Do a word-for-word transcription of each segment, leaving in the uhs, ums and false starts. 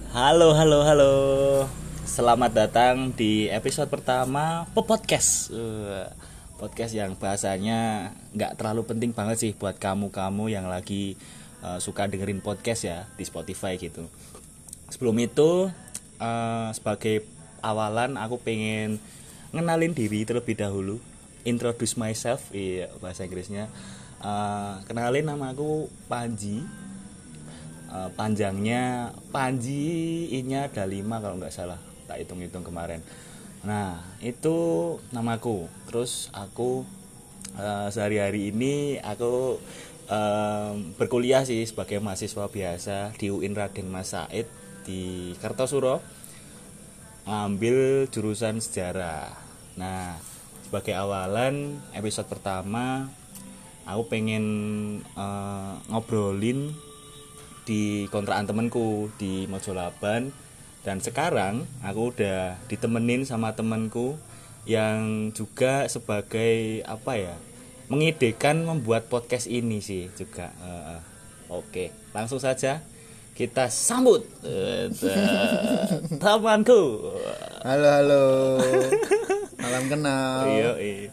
Halo, halo, halo. Selamat datang di episode pertama Podcast. Uh, podcast yang bahasanya nggak terlalu penting banget sih buat kamu-kamu yang lagi uh, suka dengerin podcast ya di Spotify gitu. Sebelum itu, uh, sebagai awalan aku pengen ngenalin diri terlebih dahulu. Introduce myself, iya bahasa Inggrisnya. Uh, kenalin, nama aku Panji. Uh, panjangnya Panji, I-nya ada lima kalau nggak salah, tak hitung-hitung kemarin. Nah itu namaku. Terus aku uh, sehari-hari ini aku uh, berkuliah sih sebagai mahasiswa biasa di U I N Raden Mas Said di Kartosuro, ngambil jurusan sejarah. Nah sebagai awalan episode pertama aku pengen uh, ngobrolin di kontrakan temanku di Mojolaban, dan sekarang aku udah ditemenin sama temanku yang juga sebagai apa ya, mengidekan membuat podcast ini sih juga. Uh, uh. Oke, langsung saja kita sambut uh, temanku. Halo halo, salam kenal. Iya, iya.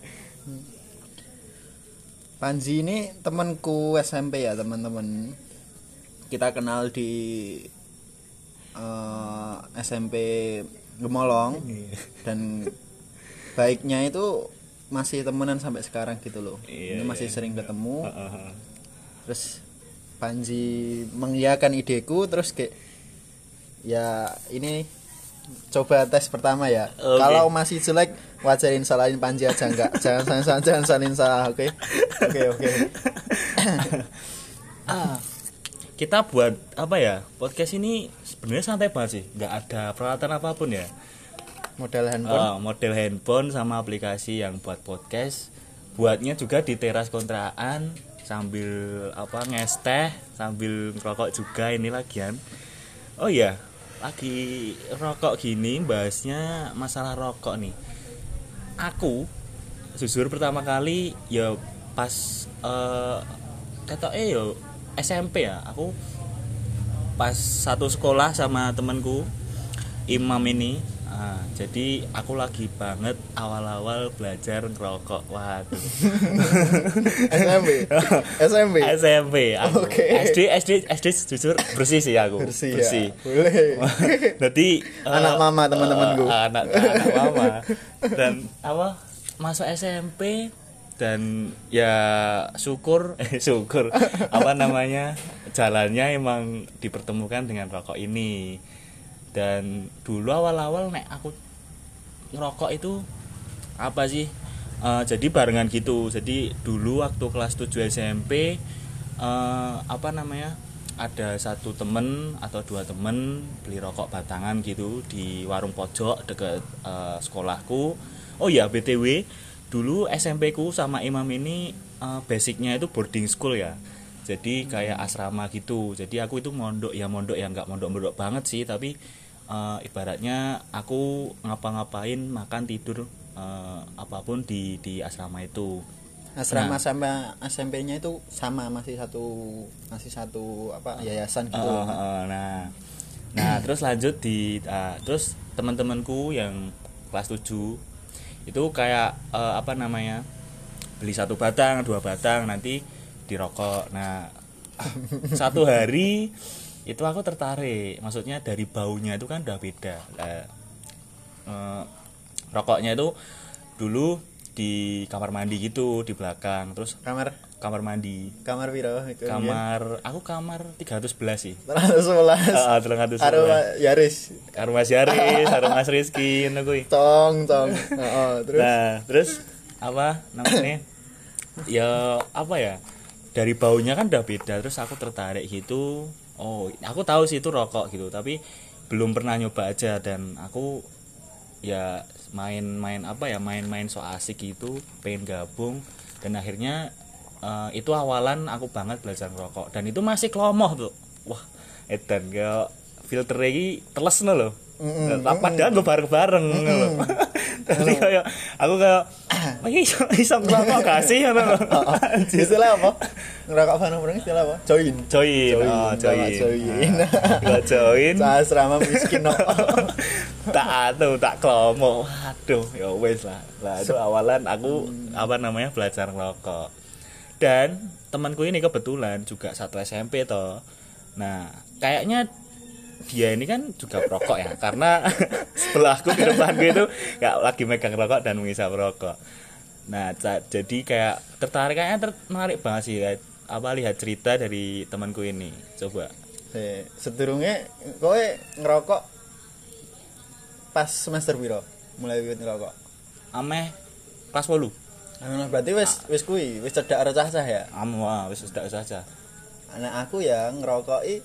Panji ini temanku S M P ya teman-teman. Kita kenal di uh, S M P Gemolong, dan baiknya itu masih temenan sampai sekarang gitu loh. Iya, ini masih iya. sering ketemu. Uh, uh, uh. Terus Panji mengiyakan ideku, terus kayak ya ini coba tes pertama ya. Okay. Kalau masih jelek wajarin, salahin Panji aja, enggak. Jangan jangan jangan salin salah, oke? Oke oke. Ah. Kita buat apa ya, podcast ini sebenarnya santai banget sih, nggak ada peralatan apapun ya, Model handphone. uh, model handphone sama aplikasi yang buat podcast. Buatnya juga di teras kontrakan sambil apa ngesteh, sambil ngerokok juga ini lagian. Oh iya, lagi rokok gini, bahasnya masalah rokok nih. Aku jujur pertama kali ya pas uh, ketoke yo S M P ya, aku pas satu sekolah sama temanku Imam ini. Nah, jadi aku lagi banget awal-awal belajar ngerokok. Waduh. S M P. S M P. S M P aku. Oke. S D S D S D jujur bersih sih aku. Bersih, bersih. Ya. Boleh. Jadi anak uh, mama teman-temanku. Uh, anak anak mama. Dan apa? Masuk S M P dan ya syukur eh syukur apa namanya, jalannya emang dipertemukan dengan rokok ini. Dan dulu awal-awal nek aku ngerokok itu apa sih, uh, jadi barengan gitu. Jadi dulu waktu kelas tujuh S M P uh, apa namanya, ada satu temen atau dua temen beli rokok batangan gitu di warung pojok deket uh, sekolahku. Oh ya B T W, dulu S M P ku sama Imam ini uh, basicnya itu boarding school ya, jadi kayak asrama gitu. Jadi aku itu mondok ya mondok ya nggak mondok-mondok banget sih, tapi uh, ibaratnya aku ngapa-ngapain makan tidur uh, apapun di di asrama itu. Asrama Nah, sama S M P-nya itu sama, masih satu masih satu apa yayasan gitu. uh, uh, nah nah terus lanjut di uh, terus teman-temanku yang kelas tujuh itu kayak uh, apa namanya, beli satu batang dua batang nanti dirokok. Nah satu hari itu aku tertarik, maksudnya dari baunya itu kan udah beda. Nah, uh, rokoknya itu dulu di kamar mandi gitu di belakang, terus Kamar kamar mandi kamar piro? kamar aku kamar tiga ratus sebelas sih. seratus sebelas. Heeh, tiga ratus sebelas. Karo Yaris. Karo Mas Yaris, karo Mas Rizky ngono kuwi. Tong tong. Heeh, terus Nah, terus apa namanya? Ya apa ya? Dari baunya kan udah beda, terus aku tertarik gitu. Oh, aku tahu sih itu rokok gitu, tapi belum pernah nyoba aja. Dan aku ya main-main apa ya, main-main so asik gitu, pengen gabung. Dan akhirnya uh, itu awalan aku banget belajar ngerokok, dan itu masih klomoh tuh. Wah, edan ya filter iki teles no lho. Mm-mm, Padahal gue bareng-bareng mm-mm. lho. Jadi kayak aku kayak oh iya iso iso ngerokok gak sih ngono. Istilah apa? Ngerokok bareng-bareng istilah apa? Join. Join. Oh, join. Join. Gak join. Asrama miskin no. Tak atuh, tak klomo. Aduh, ya wes lah. Lah itu awalan aku apa namanya belajar ngerokok. Dan temanku ini kebetulan juga satu S M P toh. Nah, kayaknya dia ini kan juga perokok ya, karena sebelahku di depan gue itu kayak lagi megang rokok dan mengisap rokok. Nah, ca- jadi kayak tertarik, kayaknya tertarik banget sih kayak, apa lihat cerita dari temanku ini. Coba. Eh, sedurunge kowe ngerokok pas semester piro? Mulai wiwit ngerokok. Ameh kelas wolu. Anu berarti wis wis kuwi, wis cedak recah-cah ya. Am wah, wis sudah saja. Anak aku ya ngerokoki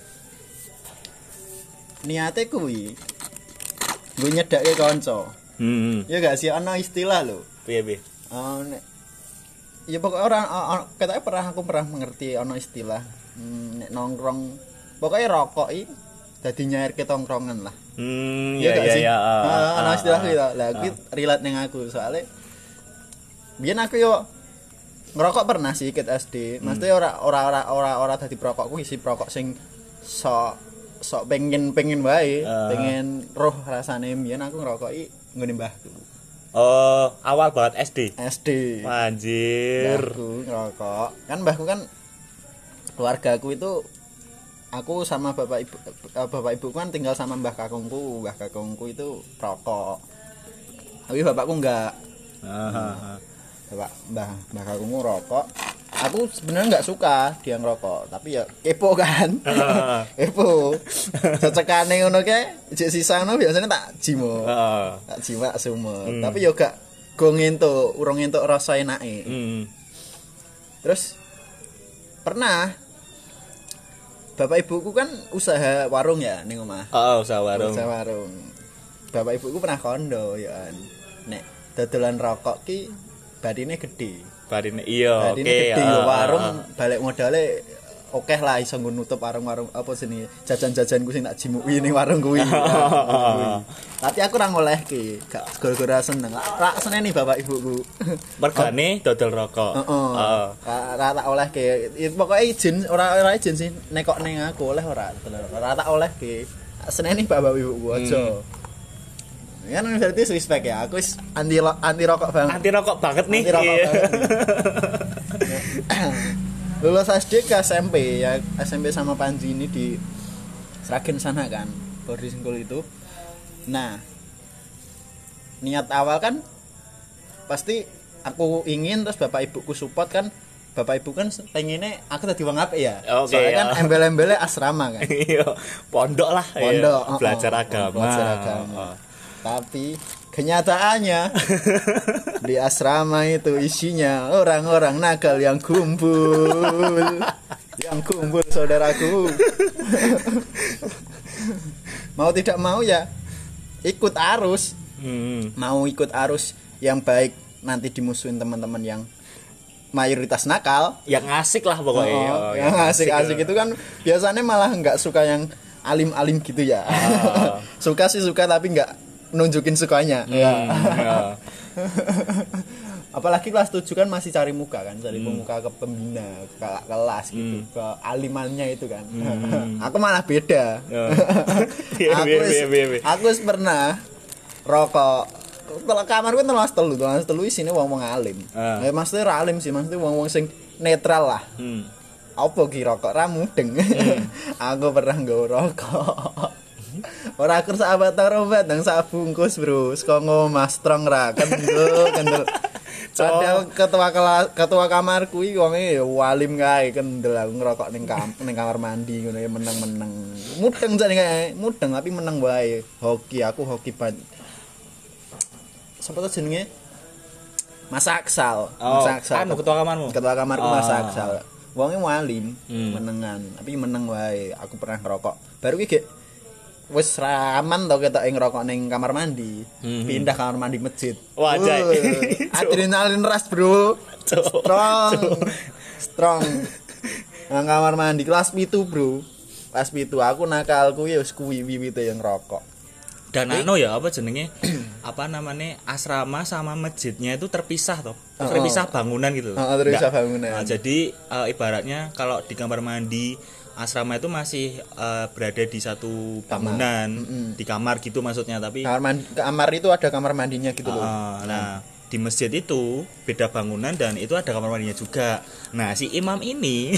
niate kuwi gue nyedake kanca. Hmm. Ya gak sih ana istilah lho. Piye piye? Oh, nek ya pokoknya orang katanya pernah aku pernah mengerti ana istilah hmm, nek nongkrong pokoknya rokok i dadi nyair ke tongkrongan lah. Hmm, ya ya gak ya sih? ya. Ah, ana istilah kuwi lah. Lah kuwi relate ning aku soalnya biyen aku yo ngerokok pernah sih ket S D. Maksudnya ora ora ora ora ora dadi perokok kuwi si perokok sing sok sok pengen pengen wae, uh. pengen roh rasane mbiyen aku ngerokoki nggone mbahku. Oh, awal banget S D. S D. Anjir. Mbahku ngerokok. Kan mbahku kan keluargaku itu aku sama bapak ibu bapak ibuku kan tinggal sama mbah kakungku. Mbah kakungku itu perokok. Tapi bapakku enggak. Heeh. Bapak mbah mbah kakungku rokok. Aku sebenarnya nggak suka dia ngerokok, tapi ya kepo kan. Kepo. Cecekane ngono kae, jek sisane biasanya tak jimo. Heeh. Tak jiwak semua. Hmm. Tapi yo gak go ngentuk, urung ngentuk rasa enake. Hmm. Terus pernah bapak ibuku kan usaha warung ya ning omah. Oh, usaha warung. Usaha warung. Bapak ibuku pernah kondo ya. Nek dodolan rokok ki badine gede. Barine iya, oke. Okay, uh, warung uh, balik modalnya oke lah iso nggo nutup warung-warung apa sini jajan-jajan ku sing tak jimuki ning warung kuwi. Tapi aku ora ngolehke, gak gara-gara seneng. Ra seneni bapak ibuku. Mergane dodol rokok. Heeh. Heeh. Ra tak olehke. Pokoke izin ora ora izin sih nekok ning aku oleh ora. Ora tak olehke. Seneni bapak ibuku aja. Kan berarti respect ya. Aku wis anti anti rokok banget. Anti rokok banget nih. Anti rokok banget. Lulus S D ke S M P ya, S M P sama Panji ini di Sragen sana kan, boarding school itu. Nah, niat awal kan pasti aku ingin terus bapak ibuku support kan. Bapak ibu kan pengennya aku tadi wong apik ya. Okay, soalnya kan ya. embel-embelnya asrama kan. Iya, pondok lah. Pondok, iya. Belajar oh, agama. Belajar agama. Oh. Tapi kenyataannya di asrama itu isinya orang-orang nakal yang kumpul. Yang kumpul saudaraku. Mau tidak mau ya ikut arus. Hmm. Mau ikut arus yang baik nanti dimusuhin teman-teman yang mayoritas nakal, yang asik lah pokoknya. Oh, oh, yang asik-asik itu kan biasanya malah nggak suka yang alim-alim gitu ya. Oh. Suka sih suka tapi nggak nunjukin sukanya. Hmm, ya. Ya. Apalagi kelas tujuh kan masih cari muka kan, cari hmm. muka ke pembina, ke kelas gitu, hmm. ke alimannya itu kan. Hmm. Aku malah beda. Oh. aku aku pernah rokok. Kalau kamar gue telas telu, telas telu isine wong-wong alim. Uh. Ya maksudnya ra alim sih, maksudnya wong-wong sing netral lah. Hmm. Apa ki rokok ra mudeng. Hmm. Aku pernah nggo rokok. Ora kur sahabat obat nang sak bungkus, Bro. Saka ngomah strong ra kendel, kendel. Padahal ketua kelas, ketua kamar kuwi wonge ya walim kae kendel aku ngerokok ning kam, ning kamar mandi ngono ya meneng-meneng. Mudeng jane kae, mudeng tapi meneng wae. Hoki aku hoki ban. Sapa tuh jenenge? Mas Aksal. Oh, Mas Aksal. Anu ketua kamarmu. Ketua kamarku oh. Mas Aksal. Wonge walim, hmm. menengan, tapi meneng wae. Aku pernah ngerokok. Baru ki wis raman to ketok ngerokok ning kamar mandi. Hmm. Pindah kamar mandi masjid. Wajah. Adrenalin ras, Bro. Strong. Strong. Nang kamar mandi kelas pitu, Bro. Kelas pitu aku nakalku ya wis kuwi wiwite yang ngerokok. Dan anu ya apa jenenge apa namanya asrama sama masjidnya itu terpisah toh. Terpisah bangunan gitu. Heeh, terpisah bangunan. Nah, jadi uh, ibaratnya kalau di kamar mandi asrama itu masih uh, berada di satu bangunan, mm-hmm. di kamar gitu maksudnya, tapi kamar mandi, kamar itu ada kamar mandinya gitu loh. Uh, nah, di masjid itu beda bangunan dan itu ada kamar mandinya juga. Nah, si imam ini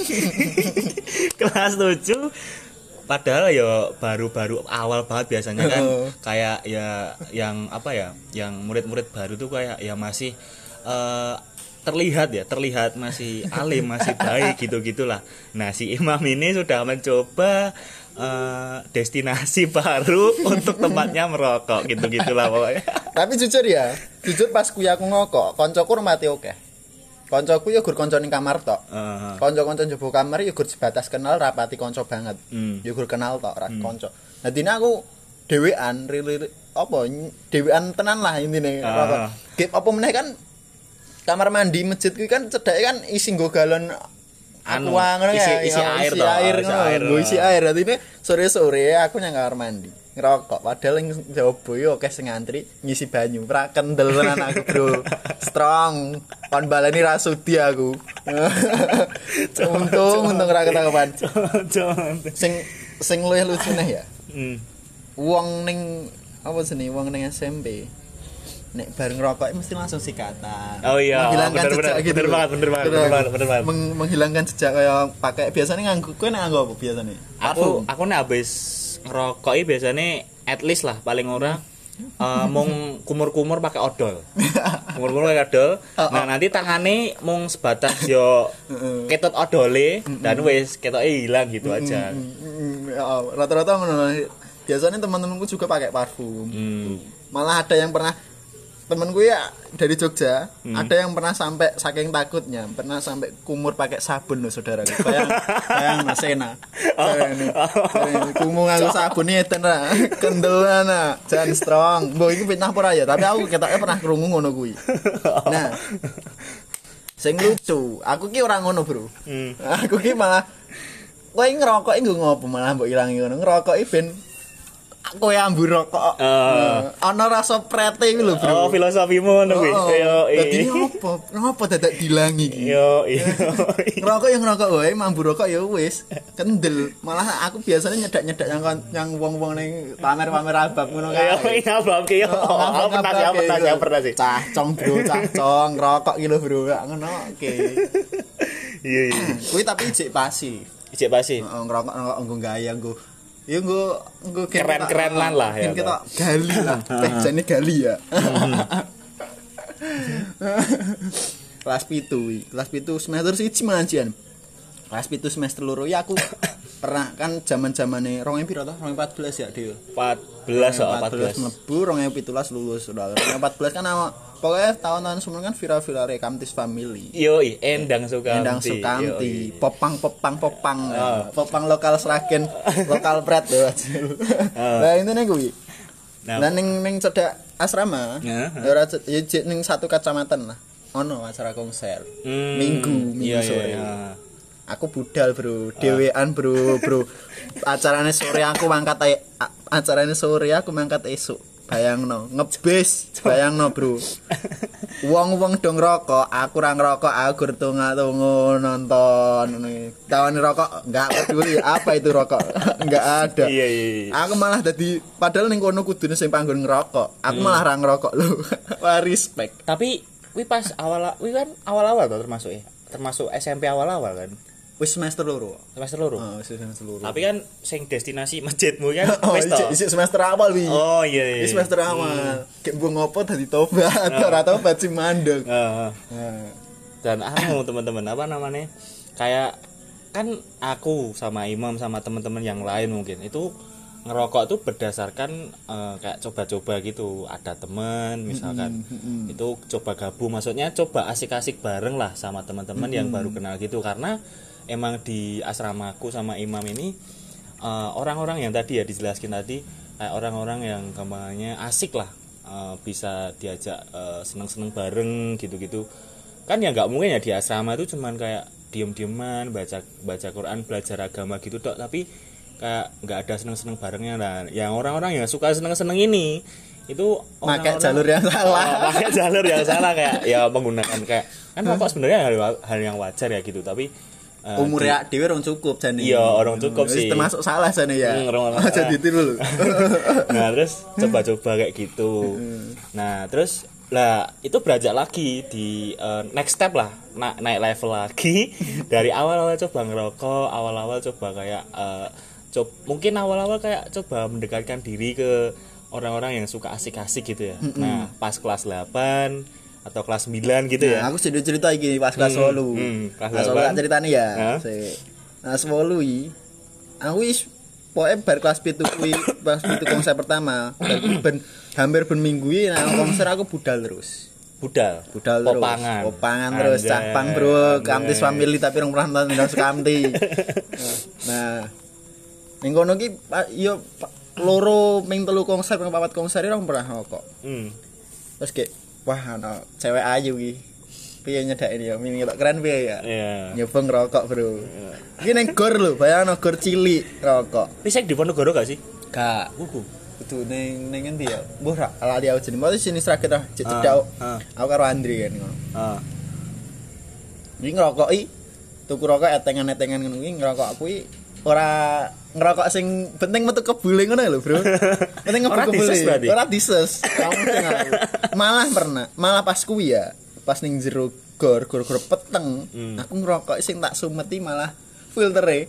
kelas tujuh padahal ya baru-baru awal banget biasanya kan kayak ya yang apa ya yang murid-murid baru tuh kayak ya masih uh, terlihat ya terlihat masih alim masih baik gitu-gitulah. Nah si imam ini sudah mencoba uh, destinasi baru untuk tempatnya merokok gitu-gitulah pokoknya. Tapi jujur ya jujur pas kuliah aku ngokok koncoku rumati oke. Koncoku ya gur konco ning kamar tok. Uh-huh. Konco-konco njaba kamar ya gur sebatas kenal rapati konco banget. Mm. Ya gur kenal tok ra mm. konco. Dadine aku dhewean rili apa dhewean tenan lah intine. Uh-huh. Gep apa meneh kan kamar mandi masjid kuwi kan cedhake kan isi nggo galon anu ngono ya isi, isi air isi toh. air isi air. Nggo isi air. Dadine sore-sore aku nang kamar mandi ngerokok padahal ning jaba yo akeh sing ngantri ngisi banyu pra kendel tenan aku bro strong kon baleni ra sudi aku untung untung ra ketahuan sing sing luwih lucu neh ya hmm. Wong ning apa jenenge wong ning S M P nek bareng rokok mesti langsung sikatan. Oh iya, menghilangkan bener, jejak bener, gitu. Bener banget, bener banget, bener banget, bener banget. Meng, menghilangkan jejak kayak pakai biasanya nganggo kowe nek nganggo apa biasanya? Aku aku nek habis ngerokoki biasanya at least lah paling ora uh, mung kumur-kumur pakai odol. Kumur-kumur pakai odol. Nah, nanti tangane mung sebatas yo ketut odole dan wis ketoke ilang gitu aja. Rata-rata ngono. Biasanya teman-temanku juga pakai parfum. Malah ada yang pernah temenku ya dari Jogja, hmm. ada yang pernah sampai saking takutnya, pernah sampai kumur pakai sabun loh saudara. Bayang, bayang Sena. Kumur nganggo sabun nih tenan, kendelan ah, jan strong. Mbok iki fitnah apa ya, tapi aku ketoknya pernah krungu ngono kuwi. Nah, sing lucu, aku ki ora ngono, Bro. Hmm. Aku ki malah kowe ngerokok nggo ngopo malah mbok ilangi ngono. Ngerokoki ben kowe ambu rokok. Uh. Ana rasa prete iki lho, Bro. Oh, filosofimu ngono kuwi. Yo, dadi ngopo? Ngopo dadak dilangi iki? Yo, iya. Ngerokok yang ngerokok wae, ambu rokok ya wis. Kendel. Malah aku biasanya nyedak-nyedak yang yang wong-wong ning pamer-pamer abab ngono kae. Yo, iya abab ki yo. Apa pernah sih, pernah sih, pernah sih. Cah cong, Bro, cah cong, ngerokok iki lho, Bro. Ngono oke. Iya, iya. Kuwi tapi ijek pasi. Ijek pasi. Heeh, ngerokok-ngerokok nggo gaya nggo ya nggo nggo keren-keren lan lah ya. Kita gali lah. Teh jane gali ya. Kelas pitu iki. Kelas pitu semester siji manjian. Kelas pitu semester loro ya aku pernah kan zaman-zamane dua ribu piro to? dua ribu empat belas ya, Dio. empat belas oh, empat belas. Mlebu dua ribu tujuh belas lulus. dua ribu empat belas kan ama pokoknya tahun-tahun sebelum kan viral-viral Kamtis Family. Yo, Endang Sukamti. Endang Sukamti. Popang popang popang. Oh. Popang lokal Sragen, lokal pret lho. Lah intine kuwi. Nah ning ning cedak asrama, ya ora ya ning satu kecamatan lah. Ono acara konser. Hmm, minggu, minggu iya, sore. Iya. Aku budal, Bro. Dewean, Bro, Bro. Acarane sore aku mangkat acarane sore aku mangkat esuk. Bayangno, ngebis, bayangno, Bro. Wong-wong dong rokok, aku ora ngerokok, aku tunga-tungu nonton ngene. Tawani rokok enggak peduli apa itu rokok. Enggak ada. Iya, iya, iya. Aku malah dadi padahal ning kono kudune sing panggon ngerokok. Aku hmm. malah ra ngerokok lho. Wah, respect. Tapi kuwi pas awal kuwi kan awal-awal to termasuk ya. Termasuk S M P awal-awal kan. Wis semester loro. Semester loro. Heeh, oh, semester loro. Tapi kan sing destinasi masjidmu kan wis to. Isih semester awal wi. Oh iya iya. Wis semester awal. Gek mbok ngopo dadi tobat, ora tobat sing mandeg. Heeh. Dan anu teman-teman apa namanya? Kayak kan aku sama Imam sama teman-teman yang lain mungkin itu ngerokok tuh berdasarkan uh, kayak coba-coba gitu. Ada teman misalkan mm-hmm. itu coba gabung, maksudnya coba asik-asik bareng lah sama teman-teman mm-hmm. yang baru kenal gitu. Karena emang di asramaku sama Imam ini uh, orang-orang yang tadi ya dijelaskin tadi kayak orang-orang yang gampangnya asik lah, uh, bisa diajak uh, seneng-seneng bareng gitu-gitu. Kan ya nggak mungkin ya di asrama itu cuman kayak diem-dieman baca baca Quran, belajar agama gitu dok. Tapi kayak nggak ada seneng-seneng barengnya. Nah yang orang-orang yang suka seneng-seneng ini itu pakai jalur yang salah. Oh, pakai jalur yang salah kayak ya menggunakan kayak kan rokok sebenarnya hal, hal yang wajar ya gitu, tapi uh, umurnya di, dhewe orang cukup jane. Iya, orang cukup sih. Termasuk salah jane ya. Hmm, aja ditiru. Nah, terus coba-coba kayak gitu. Nah, terus lah itu beranjak lagi di uh, next step lah, na- naik level lagi dari awal-awal coba ngerokok, awal-awal coba kayak uh, coba, mungkin awal-awal kayak coba mendekatkan diri ke orang-orang yang suka asik-asik gitu ya. Mm-hmm. Nah, pas kelas delapan atau kelas sembilan gitu nah, ya. Aku sudah cerita iki pas kelas delapan. Hmm, hmm, kelas delapan. Nah, ceritanya ya. Nah, nah sepuluh iki aku wis pokoke bar kelas pitu kuwi, pas pitu konser pertama, ben hampir ben minggu iki nang konser aku budal terus. Budal, budal terus. Popangan. Popangan terus, capang bro, Kamtis family tapi rong pernah nonton Kamti. Nah, ning kono ki yo loro ming telu konser ping papat konser ora pernah kok. Hmm. Terus kayak wah ana cewek ayu iki. Piye nyedaki ya, mini ketok keren piye ya. Iya. Nyoba ngerokok, Bro. Iki ning gor lho, bayangno gor cilik rokok. Wis di Ponorogo gak sih? Gak. Kudu. Kudu ning ning endi ya? Mbuh ra ala dia jeneng. Mau sini sraket ah, cedak. Aku karo Andri kan ngono. Heeh. Iki ngerokoki tuku rokok etengan-etengan ngono iki ngerokok aku iki ora ngerokok sing penting metu kebule ngono lho, Bro. Penting ngebu kebule. Ora dises. Malah pernah, malah pas kuwi ya, pas ning jero gor, gor-gor peteng, hmm. aku ngerokok sing tak sumeti malah filtere.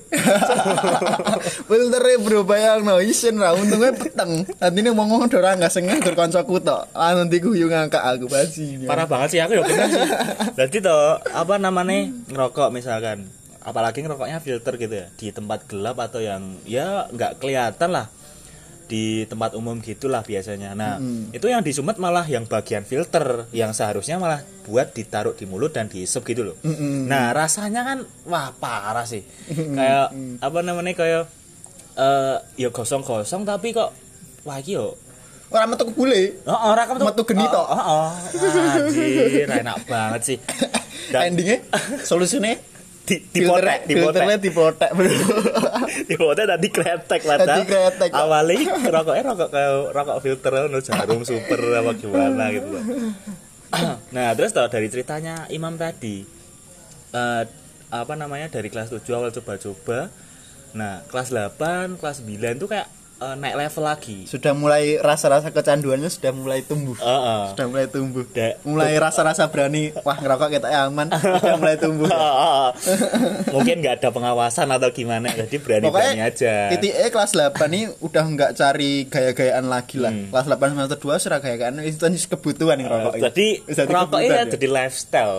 Filtere, Bro, bayangno isen ra untunge peteng. Tandine ngomong ora enggak sengah gor kancaku tok. Lah nanti guyu ngangkat aku bajine. Parah banget sih aku ya pernah sih. Dadi to, apa namanya ngerokok misalkan apalagi ngerokoknya filter gitu ya di tempat gelap atau yang ya nggak kelihatan lah di tempat umum gitulah biasanya. Nah mm-hmm. itu yang disumet malah yang bagian filter yang seharusnya malah buat ditaruh di mulut dan diisep gitu loh. Mm-hmm. Nah rasanya kan wah parah sih. Mm-hmm. Kayak apa namanya kayak uh, ya gosong-gosong tapi kok wah yo orang metu kebule. Heeh, ora metu metu geni tok. Heeh. Anjir, enak banget sih. Dan endingnya solusinya di dipotek dipotek dipotek bro dipotek dan dikretek padahal awalnya rokoknya rokok kayak rokok filter no jarum super apa gimana gitu loh. Nah terus tau dari ceritanya Imam tadi uh, apa namanya dari kelas tujuh awal coba-coba, nah kelas delapan kelas sembilan tuh kayak uh, naik level lagi. Sudah mulai rasa-rasa kecanduannya sudah mulai tumbuh. Uh-uh. Sudah mulai tumbuh. Da- mulai rasa-rasa berani, wah ngerokok kita aman, sudah mulai tumbuh. Uh-uh. Mungkin nggak ada pengawasan atau gimana, jadi berani-berani aja. Titik E kelas delapan ini udah nggak cari gaya-gayaan lagi lah. Hmm. Kelas delapan semester dua sudah gaya-gayaan itu kebutuhan yang rokok. Uh, jadi rokok ini ya jadi lifestyle.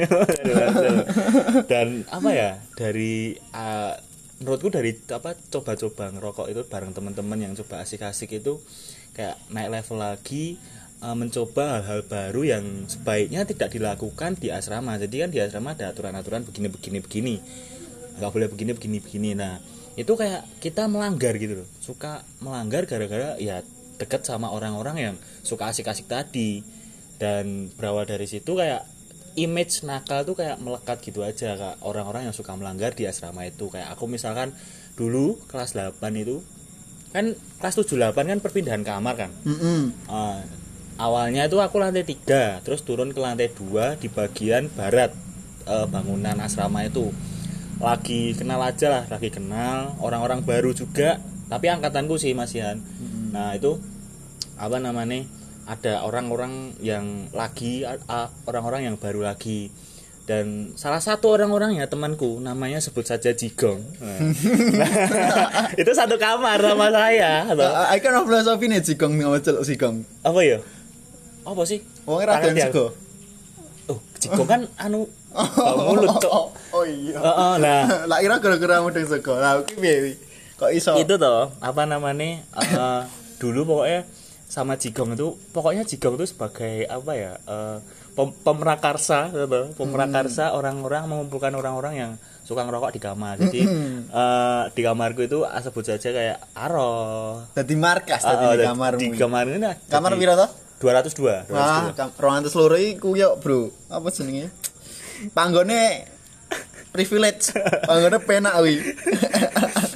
Dan apa ya dari uh, menurutku dari apa coba-coba ngerokok itu bareng teman-teman yang coba asik-asik itu kayak naik level lagi, uh, mencoba hal-hal baru yang sebaiknya tidak dilakukan di asrama. Jadi kan di asrama ada aturan-aturan begini-begini begini, nggak boleh begini-begini begini. Nah itu kayak kita melanggar gitu loh, suka melanggar gara-gara ya deket sama orang-orang yang suka asik-asik tadi. Dan berawal dari situ kayak image nakal tuh kayak melekat gitu aja kak, orang-orang yang suka melanggar di asrama itu. Kayak aku misalkan dulu kelas delapan itu kan kelas tujuh delapan kan perpindahan kamar kan. Mm-hmm. uh, awalnya itu aku lantai tiga terus turun ke lantai dua di bagian barat uh, bangunan asrama itu. Lagi kenal aja lah, lagi kenal orang-orang baru juga tapi angkatanku sih masihan. Mm-hmm. Nah itu apa namanya ada orang-orang yang lagi uh, orang-orang yang baru lagi, dan salah satu orang-orangnya temanku namanya sebut saja Jigong. Nah, itu satu kamar sama saya. I can of philosophy nih Jigong nih celuk Jigong. Apa ya? Apa sih? Wong ora ada Jigong. Oh, Jigong kan anu bau mulut cok. Oh iya. Heeh, nah. Lah ira gara-gara mudeng sego. Lah iki piye? Kok iso? Itu toh, apa namanya? Uh, dulu pokoknya sama Jigong itu, pokoknya Jigong itu sebagai apa ya, uh, pem- pemrakarsa gitu. Pemrakarsa hmm. orang-orang mengumpulkan orang-orang yang suka ngerokok di kamar. Jadi hmm. uh, di kamarku itu sebut saja kayak Aro. Dadi markas tadi uh, di kamarmu. Di kamar ini. Kamar piro to? dua ratus dua. Wah, dua ratus loro iku yo, Bro. Apa jenenge? Panggone privilege. Panggone penak kuwi.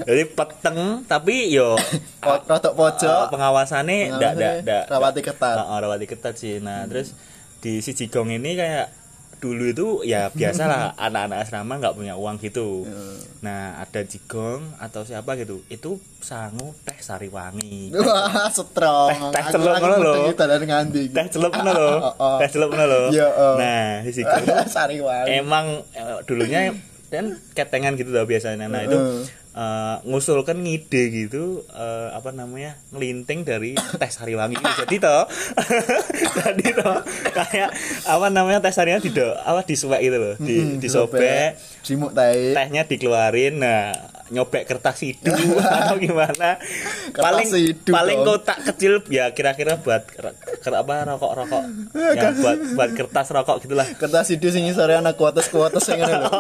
Jadi peteng tapi yo rodok pojok. Uh, pengawasannya ndak ndak ndak rawati ketat. Heeh, uh, rawati ketat sih. Nah, hmm. terus di si Jigong ini kayak dulu itu ya biasalah anak-anak asrama nggak punya uang gitu. Nah, ada Jigong atau siapa gitu. Itu sangu teh Sariwangi. Wah, strong. Teh, teh celup ngono lho. Teh celup ngono lho. Teh celup ngono lho. Nah, si Jigong Sariwangi. Emang dulunya dan ketengan gitu lah biasanya. Nah, itu uh, ngusulkan ngide gitu uh, apa namanya ngelinting dari teh Sariwangi itu. Jadi toh jadi toh kayak apa namanya teh Sariwangi di apa disuwek gitu loh, di mm-hmm, disobek, simuk teh, tehnya dikeluarin, nah nyobek kertas hidu atau gimana paling hidu paling dong. Kotak kecil ya kira-kira buat ker, ker, apa rokok-rokok ya buat buat kertas rokok gitulah, kertas hidu sing sore anak kuates-kuates sing ngono lho.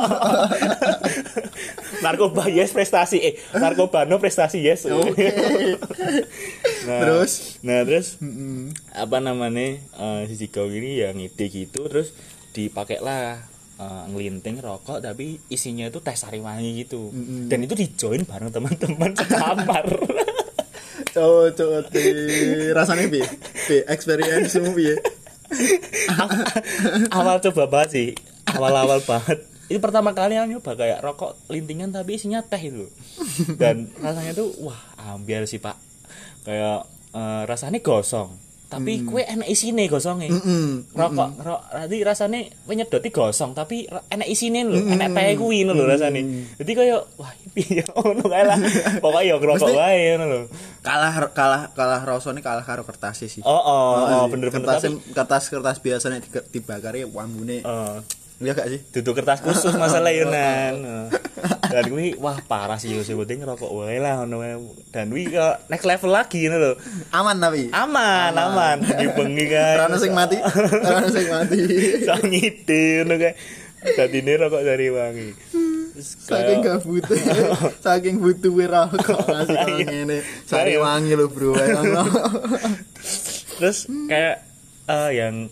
Narkoba yes prestasi eh narkoba no prestasi yes. Okay. Nah, terus nah terus mm-mm. apa namanya uh, si Jigong ini ya ngide gitu terus dipakailah uh, ngelinting rokok tapi isinya itu teh Sariwangi gitu. Mm-mm. Dan itu dijoin bareng teman-teman sekamar. Cowok cowok rasanya bi bi experience mu bi. Awal coba banget sih, awal-awal banget. Itu pertama kali yang nyoba kayak rokok lintingan tapi isinya teh itu. Dan rasanya tuh wah ambiar sih Pak. Kayak uh, rasanya gosong. Tapi mm. kue enak isine gosongnya. Mm-mm. Rokok, mm-mm. rok, nanti rasanya nyedoti gosong tapi enak isine lho, mm-mm. enak teh kuwi lho rasanya. Jadi kayak wah piye ngono kae lah. Pokoke yo rokok wae ngono lho. Kalah kalah kalah rasane kalah karo kertas sih. Oh oh, oh bener-bener kertas kertas kertas biasanya dibakari wambune. Heeh. Iya gak sih? Duduk kertas khusus masalah Yunan. Dan kuwi wah parah sih yo sebetulnya ngerokok wae lah ngono wae. Dan kuwi kok next level lagi ngono lho. Aman tapi. Aman, aman. Bengi-bengi kae. Ora ono sing mati. Ora ono sing mati. Sak ngide ngono kae. Dadine rokok Sariwangi. Saking gak butuh. Saking butuh rokok ngasih ngene. Sariwangi lho, Bro. Terus kayak uh, yang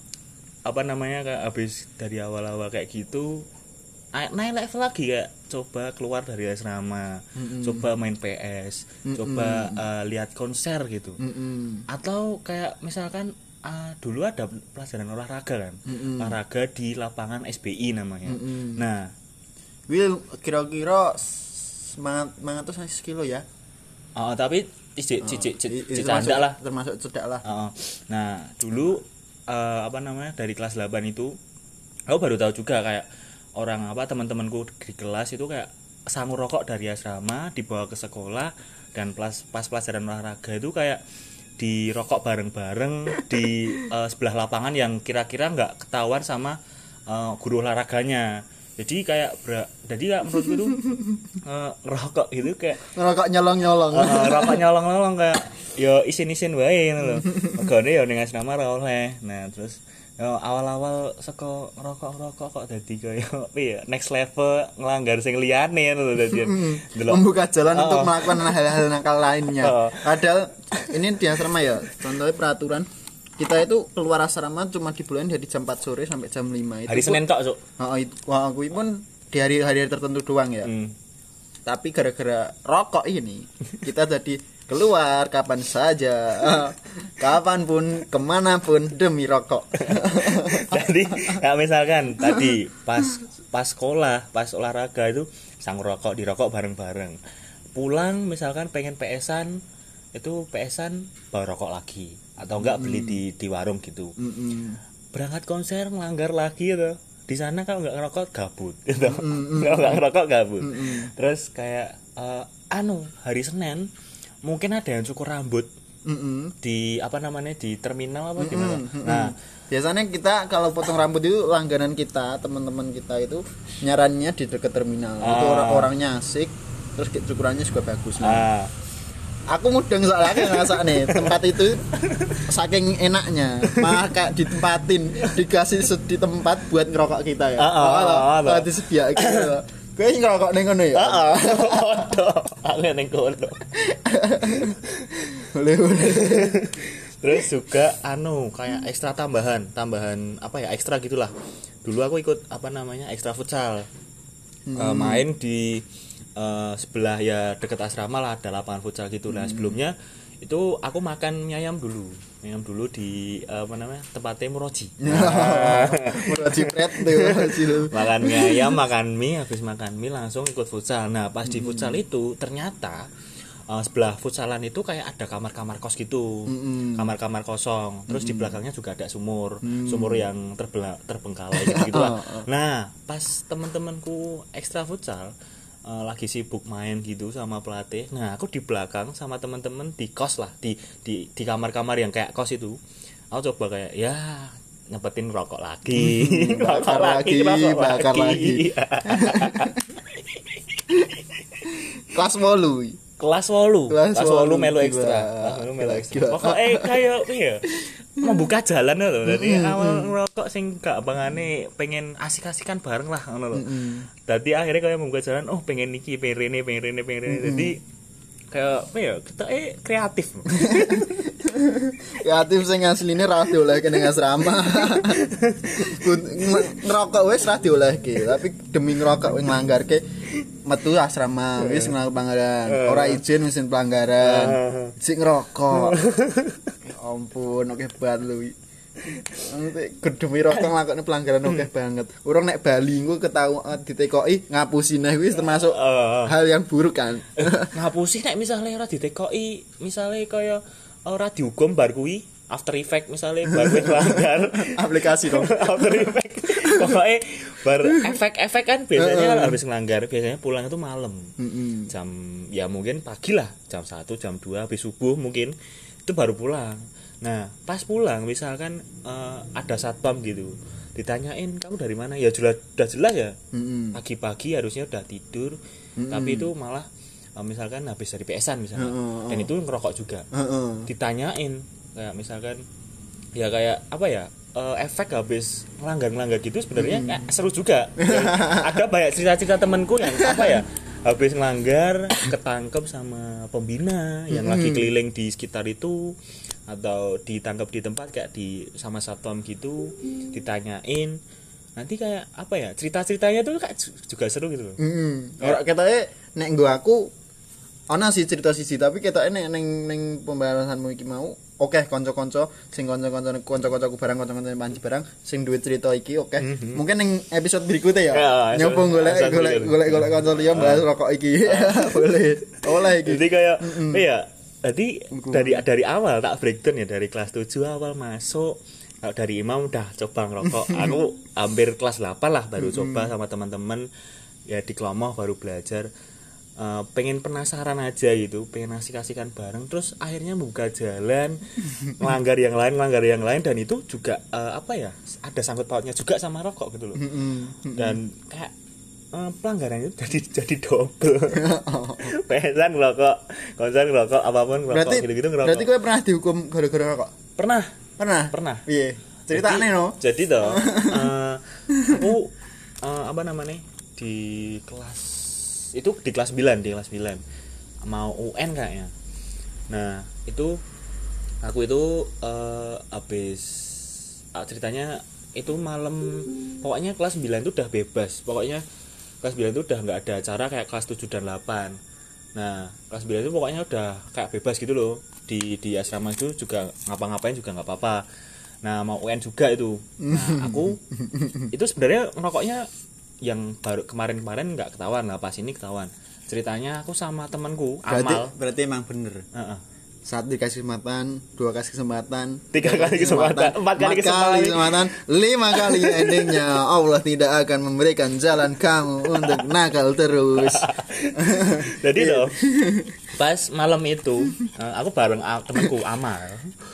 apa namanya kayak habis dari awal-awal kayak gitu naik level lagi kayak coba keluar dari asrama, mm-hmm. coba main P S, mm-hmm. coba uh, lihat konser gitu, mm-hmm. atau kayak misalkan uh, dulu ada pelajaran olahraga kan, mm-hmm. olahraga di lapangan S B I namanya. Mm-hmm. Nah, Will kira-kira semangat semangat tuh sekilo ya? Oh, tapi cicik cicik cicik candak lah, termasuk cedak lah. Uh, nah dulu Uh, apa namanya dari kelas delapan itu aku baru tahu juga kayak orang apa teman-temanku di kelas itu kayak sangu rokok dari asrama dibawa ke sekolah dan pas pas pelajaran olahraga itu kayak dirokok bareng-bareng di uh, sebelah lapangan yang kira-kira nggak ketahuan sama uh, guru olahraganya. Jadi kayak bra, jadi kayak menurutku tuh uh, ngerokok gitu kayak ngerokok nyolong-nyolong. Uh, ngerokok nyolong-nyolong kayak yo isin-isin wae ngono lho. Megane yo ning asrama ra oleh. Nah, terus yo awal-awal saka ngerokok-ngerokok kok dadi koyo piye next level nglanggar sing liyane ngono lho dadi. Membuka jalan uh, untuk melakukan hal-hal nakal lainnya. Uh, Padahal ini di asrama ya, contohnya peraturan kita itu keluar asrama cuma di bulan dari jam empat sore sampai jam lima itu. Hari Senin tok, Cuk. Heeh, itu wah aku pun di hari-hari tertentu doang ya. Hmm. Tapi gara-gara rokok ini kita jadi keluar kapan saja, kapanpun, kemanapun demi rokok. Jadi, ya misalkan tadi pas pas sekolah, pas olahraga itu sang rokok dirokok bareng-bareng. Pulang misalkan pengen P S-an itu P S-an bawa rokok lagi. Atau enggak beli di di warung gitu. Mm-mm. Berangkat konser melanggar lagi gitu. Di sana kalau enggak ngerokok gabut gitu. Kalau enggak ngerokok gabut. Mm-mm. Terus kayak uh, anu hari Senin mungkin ada yang cukur rambut. Mm-mm. Di apa namanya di terminal apa gimana. Mm-mm. Nah, biasanya kita kalau potong rambut itu langganan kita, teman-teman kita itu nyarannya di dekat terminal. Ah. Itu orang-orangnya asik, terus cukurannya juga bagus. Nah. Ah. Aku mudeng soalnya aku ngerasa nih tempat itu saking enaknya malah kayak ditempatin dikasih di tempat buat ngerokok kita ya. Heeh. Oh, disediakan gitu. Kowe ngerokok ning ngono ya? Heeh. Odo. Aku ning kono. Boleh-boleh. Terus juga anu kayak ekstra tambahan, tambahan apa ya? Ekstra gitulah. Dulu aku ikut apa namanya? Ekstra futsal. Hmm. Uh, main di uh, sebelah ya deket asrama lah ada lapangan futsal gitu. Nah, sebelumnya itu aku makan mie ayam dulu. Mie ayam dulu di uh, apa namanya? Tempatnya Muroji. Nah. Muroji pret tuh. Makan mie ayam, makan mie, habis makan mie langsung ikut futsal. Nah, pas di futsal itu ternyata uh, sebelah futsalan itu kayak ada kamar-kamar kos gitu. Mm-hmm. Kamar-kamar kosong. Terus mm-hmm. di belakangnya juga ada sumur. Mm-hmm. Sumur yang terbela- terbengkalai gitu lah. Nah, pas teman-temanku ekstra futsal Uh, lagi sibuk main gitu sama pelatih. Nah, aku di belakang sama teman-teman di kos lah, di di di kamar-kamar yang kayak kos itu. Aku coba kayak ya nyepetin rokok lagi, bakar lagi, rokok bakar lagi. Kelas wolu. Kelas wolu. Kelas wolu melu ekstra. Kelas wolu melu ekstra. Pokoknya kayak ya membuka jalan loh. Dadi awal ngerokok sing gak bangane pengen asik-asikan bareng lah ngono lho. Dadi akhirnya kayak membuka jalan, oh pengen niki, pengen rene, pengen rene, pengen rene. Dadi kayak apa ya? Kita eh kreatif. Kreatif sing asline ra diolehke ning asrama. Ngerokok wis ra diolehke, tapi demi ngerokok wis nglanggarke metu asrama wis nglanggar pelanggaran. Ora izin wis pelanggaran. Sik ngerokok. Ya ampun, oke banget lu. Gedemi rokok nglakoni pelanggaran oke banget. Urung nek Bali engko ketau ditekoki ngapusi neh wis termasuk hal yang buruk kan. Ngapusi nek misale ora ditekoki, misale kaya ora dihukum bar kuwi After Effect misalnya bar kuwi melanggar aplikasi dong. After Effect. Pokoknya bar efek-efek kan biasanya uh, habis ngelanggar biasanya pulang itu malam. Uh-uh. Jam ya mungkin pagi lah, jam satu, jam dua habis subuh mungkin itu baru pulang. Nah, pas pulang misalkan uh, ada satpam gitu. Ditanyain kamu dari mana? Ya jelas udah jelas ya. Uh-uh. Pagi-pagi harusnya udah tidur, uh-uh. tapi itu malah uh, misalkan habis dari P S-an misalnya. Uh-uh. Dan itu ngerokok juga. Uh-uh. Ditanyain kayak misalkan ya kayak apa ya? Uh, efek habis ngelanggar-ngelanggar gitu sebenarnya hmm. kayak seru juga. Ada banyak cerita-cerita temanku yang apa ya habis ngelanggar ketangkep sama pembina yang hmm. lagi keliling di sekitar itu atau ditangkap di tempat kayak di sama satpam gitu ditanyain nanti kayak apa ya cerita-ceritanya tuh kayak juga seru gitu loh. Hmm. Ora ketake nek nggo aku ana sih cerita siji tapi ketake nek ning ning pembahasanmu iki mau oke okay, kanca-kanca sing kanca-kanca kanca-kancaku barang kanca-kanca panci barang sing duwe cerita iki oke. Okay. Mm-hmm. Mungkin ning episode berikutnya ya. ya nyoba golek golek golek golek kanca liya bahas rokok iki. Boleh. Oleh iki. Jadi kayak mm-hmm. iya, jadi dari dari awal tak breakdown ya dari kelas tujuh awal masuk dari imam udah coba ngerokok. Aku hampir kelas delapan lah baru mm-hmm. coba sama teman-teman ya di Klomoh baru belajar. Uh, pengen penasaran aja gitu, pengen asik-asikan bareng, terus akhirnya membuka jalan, melanggar yang lain, melanggar yang lain, dan itu juga uh, apa ya, ada sangkut pautnya juga sama rokok gitu loh, dan kayak uh, pelanggarannya jadi jadi double, pesan ngerokok, konsen ngerokok, apapun ngerokok, gitu-gitu ngerokok. Berarti kau pernah dihukum gara-gara rokok? Pernah, pernah, pernah. Iya, ceritanya no. Jadi toh, uh, aku uh, apa namanya di kelas itu di kelas sembilan di kelas sembilan mau U N kayaknya. Nah itu aku itu uh, habis uh, ceritanya itu malam pokoknya kelas sembilan itu udah bebas, pokoknya kelas sembilan itu udah nggak ada acara kayak kelas tujuh dan delapan. Nah kelas sembilan itu pokoknya udah kayak bebas gitu loh, di di asrama itu juga ngapa-ngapain juga nggak apa-apa. Nah mau U N juga itu. Nah aku itu sebenarnya ngerokoknya yang baru kemarin-kemarin nggak ketahuan lah, pas ini ketahuan. Ceritanya aku sama temanku berarti, Amal. Berarti emang bener. Uh-uh. Satu dikasih kesempatan, dua kasih kesempatan, tiga kali kesempatan, empat kali kesempatan, kesempatan, lima kali endingnya Allah tidak akan memberikan jalan kamu untuk nakal terus. Jadi loh, pas malam itu aku bareng temanku Amal,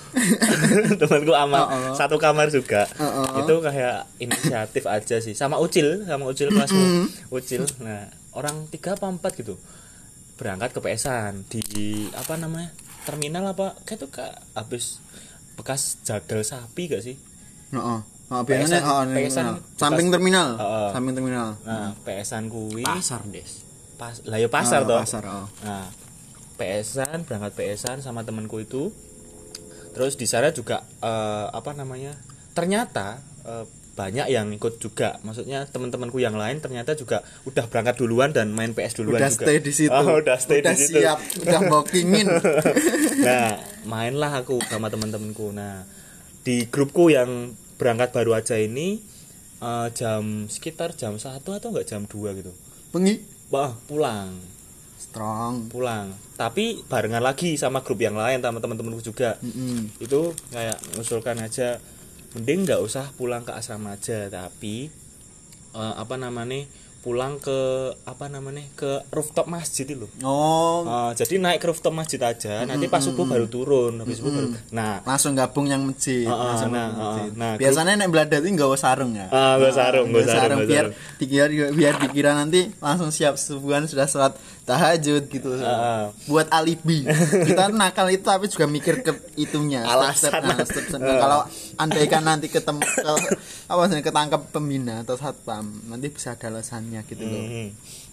temanku Amal uh-uh. satu kamar juga. Uh-uh. Itu kayak inisiatif aja sih, sama Ucil, sama Ucil kelasmu, uh-uh. Ucil. Nah orang tiga apa empat gitu berangkat ke P S-an di apa namanya? Terminal apa kayak tuh kak habis bekas jagal sapi gak sih? Heeh. Heeh, biasanya heeh samping terminal. Uh, samping terminal. Nah, P S-an kuwi pasar, Des. Pas lah ya pasar oh, toh. Pasar, oh. Nah, P S-an berangkat P S-an sama temanku itu. Terus di sana juga uh, apa namanya? Ternyata uh, banyak yang ikut juga. Maksudnya teman-temanku yang lain ternyata juga udah berangkat duluan dan main P S duluan udah juga. Stay di situ. Oh, udah stay udah di situ. Siap, udah bookingin. Nah, mainlah aku sama teman-temanku. Nah, di grupku yang berangkat baru aja ini uh, jam sekitar jam satu atau enggak jam dua gitu. Bengi, Bah, pulang. Strong. Pulang. Tapi barengan lagi sama grup yang lain sama teman-temanku juga. Mm-hmm. Itu kayak mengusulkan aja mending nggak usah pulang ke asrama aja, tapi uh, apa namanya pulang ke apa namanya ke rooftop masjid itu. Oh. Uh, jadi naik ke rooftop masjid aja, mm-hmm. nanti pas subuh baru turun, habis subuh baru. Nah, langsung gabung yang masjid. Uh, uh, langsung nah, masjid. Uh, nah, biasanya nek beladat itu nggak sarung ya. Ah, uh, sarung, nggak sarung, sarung biar sarung. dikira biar dikira nanti langsung siap subuhan sudah sholat tahajud gitu. Uh, uh. Buat alibi. Kita nakal itu tapi juga mikir ke itunya. Alasan. Step, step, step, step. Uh. Kalau andaikan nanti ketemu ke, apa sih ketangkap pembina atau satpam, nanti bisa ada alasannya gitu loh. Mm-hmm.